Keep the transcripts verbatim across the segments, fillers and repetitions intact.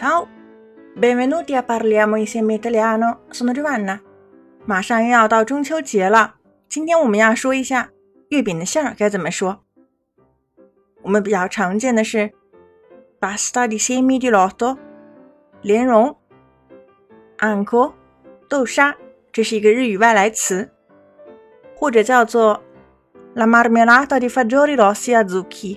Ciao, benvenuti a Parliamo insieme Italiano, sono Giovanna。马上又要到中秋节了，今天我们要说一下月饼的馅儿该怎么说。我们比较常见的是 pasta di semi di loto 莲蓉 anco 豆沙，这是一个日语外来词，或者叫做 la marmellata di fagioli rossi a zucchi。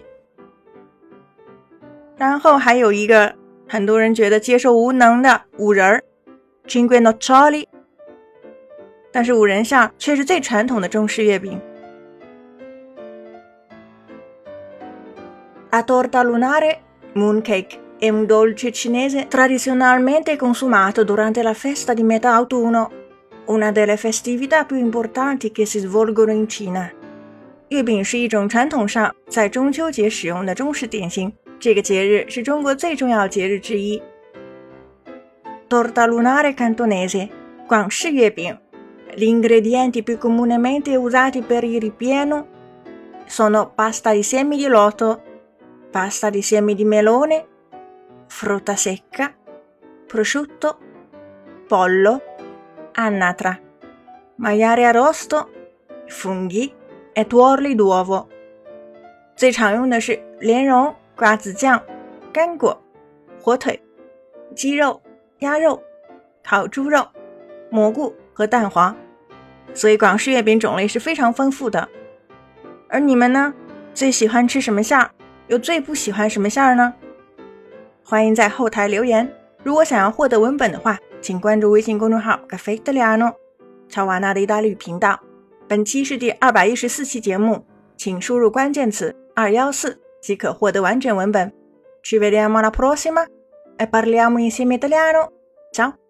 然后还有一个很多人觉得接受无能的五仁儿 cinque noccioli， 但是五仁馅却是最传统的中式月饼。La torta lunare, mooncake, è un dolce cinese tradizionalmente consumato durante la festa di metà autunno, una delle festività più importanti che si svolgono in Cina。 月饼是一种传统上在中秋节使用的中式点心，这个节日是中国最重要节日之一。 Torta lunare cantonese, 广式月饼。 Gli ingredienti più comunemente usati per il ripieno sono pasta di semi di loto, pasta di semi di melone, frutta secca, prosciutto, pollo, annatra, maiale arrosto, funghi e tuorli d'uovo。 最常用的是莲蓉、瓜子酱、干果、火腿、鸡肉、鸭肉、烤猪肉、蘑菇和蛋黄，所以广式月饼种类是非常丰富的。而你们呢，最喜欢吃什么馅儿？又最不喜欢什么馅儿呢？欢迎在后台留言。如果想要获得文本的话，请关注微信公众号 Caffè Italiano 乔瓦纳的意大利语频道。本期是第二百一十四期节目，请输入关键词二一四即可获得完整文本。Ci vediamo alla prossima e parliamo insieme italiano. Ciao!